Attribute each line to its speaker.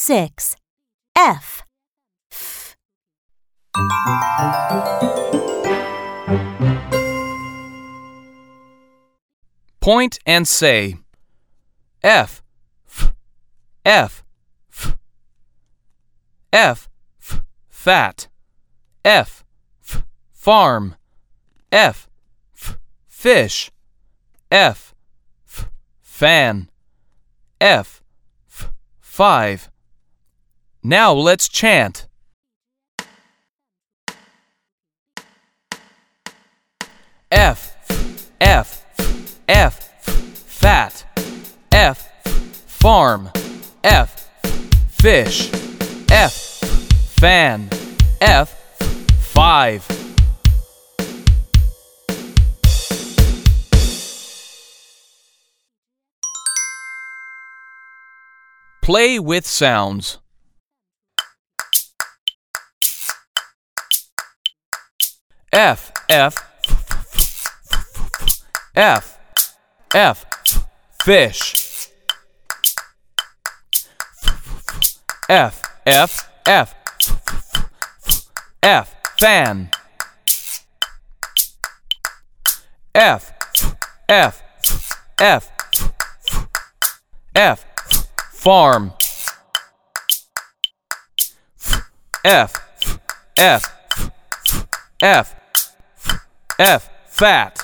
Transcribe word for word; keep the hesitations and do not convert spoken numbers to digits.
Speaker 1: six. F. F.
Speaker 2: Point and say F, F, F, F. F, F, fat. F, F, farm. F, F, fish. F, F, fan. F, F, five. Now let's chant. F, F, F, fat. F, farm. F, fish. F, fan. F, five. Play with sounds. F, F, F, F, fish. F, F, F, F, fan. F, F, F, F, farm. F, F, F, F, fat.